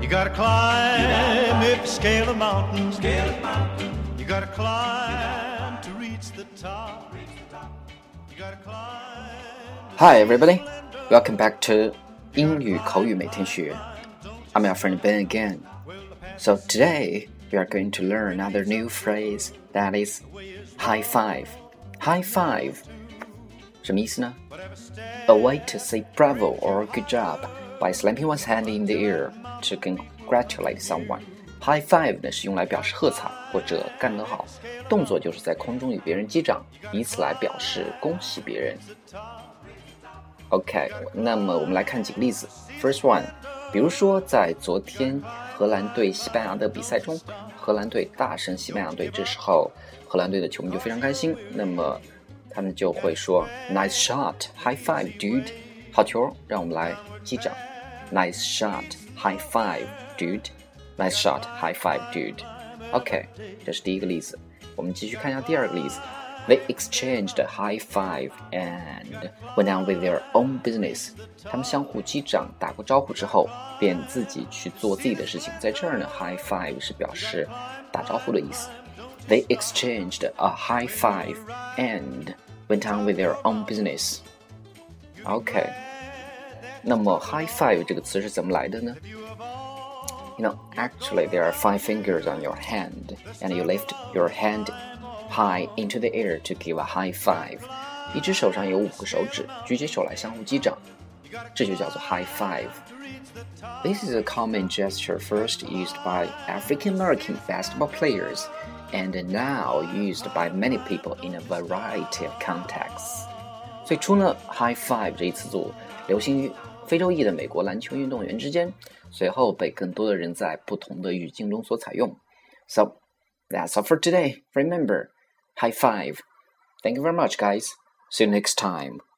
You gotta climb if you scale a mountain. You gotta climb to reach the top. You gotta climb. Hi everybody, welcome back to 英语口语每天学。I'm your friend Ben again. So today we are going to learn another new phrase that is high five. High five 什么意思呢？ A way to say bravo or good job by slapping one's hand in the air to congratulate someone. High five 呢是用来表示喝彩或者干得好，动作就是在空中与别人击掌，以此来表示恭喜别人。OK， 那么我们来看几个例子。First one， 比如说在昨天荷兰对西班牙的比赛中，荷兰队大胜西班牙队，这时候荷兰队的球迷就非常开心，那么他们就会说 Nice shot, high five, dude. 好球，让我们来击掌。Nice shot, high five, dude. Nice shot, high five, dude. OK， 这是第一个例子。我们继续看一下第二个例子。They exchanged a high five and went on with their own business. 他们相互击掌打过招呼之后，便自己去做自己的事情。在这儿呢 ，high five 是表示打招呼的意思。They exchanged a high five and went on with their own business. OK， 那么 high five 这个词是怎么来的呢？ You know, actually there are 5 fingers on your hand, and you lift your hand high into the air to give a high five. 一只手上有5个手指，举起手来相互击掌，这就叫做 high five. This is a common gesture first used by African American basketball players, and now used by many people in a variety of contexts. 最初呢 high five 这一词组流行于非洲裔的美国篮球运动员之间，随后被更多的人在不同的语境中所采用。So, that's all for today. Remember, high five. Thank you very much, guys. See you next time.